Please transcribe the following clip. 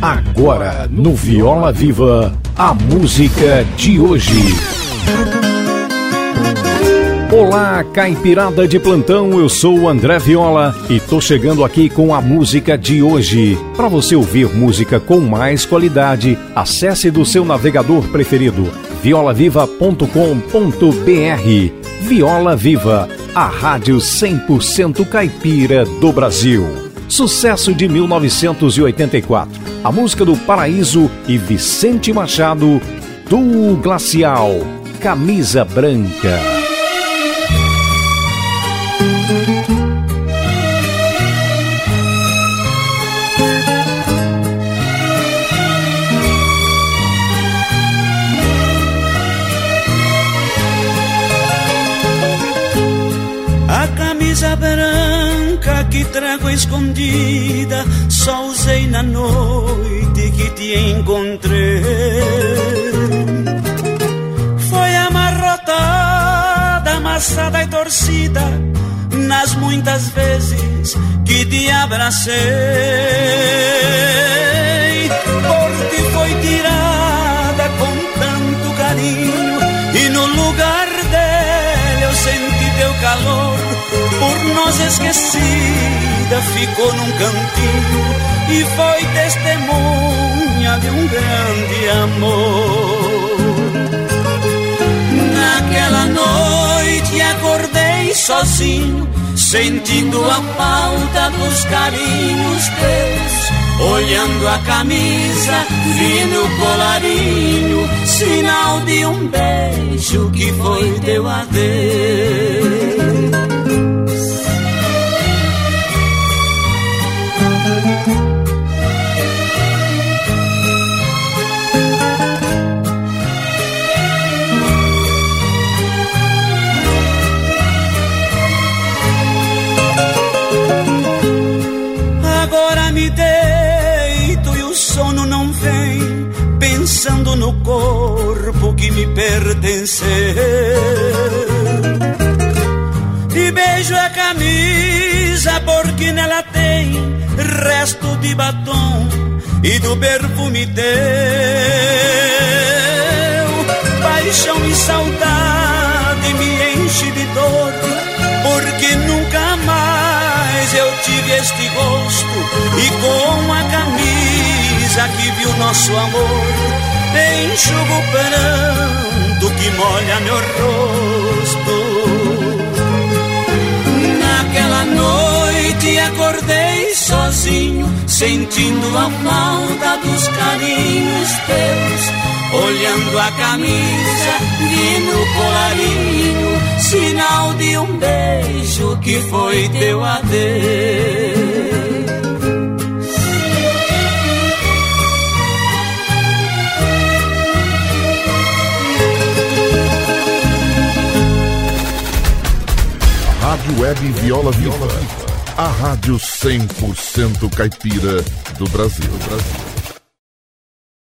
Agora, no Viola Viva, a música de hoje. Olá, caipirada de plantão, eu sou o André Viola e tô chegando aqui com a música de hoje. Para você ouvir música com mais qualidade, acesse do seu navegador preferido, violaviva.com.br. Viola Viva, a rádio 100% caipira do Brasil. Sucesso de 1984. A música do Paraíso e Vicente Machado, do Glacial, Camisa Branca. A camisa branca que trago escondida só usei na noite que te encontrei. Foi amarrotada, amassada e torcida nas muitas vezes que te abracei. Por ti foi tirada com tanto carinho e no lugar dela eu senti teu calor. Por nós esquecida ficou num cantinho e foi testemunha de um grande amor. Naquela noite acordei sozinho, sentindo a falta dos carinhos teus. Olhando a camisa, vi no colarinho sinal de um beijo que foi teu adeus. Agora me deito e o sono não vem, pensando no corpo que me pertenceu. E beijo a camisa porque nela tem resto de batom e do perfume teu. Paixão e saudade me enche de dor, porque nunca mais eu tive este gosto. E com a camisa que viu nosso amor, enxugo o pranto que molha meu rosto. Naquela noite acordei sozinho, sentindo a falta dos carinhos teus. Olhando a camisa, vi no colarinho sinal de um beijo que foi teu adeus. Rádio Web Viola Viva, a rádio 100% caipira do Brasil.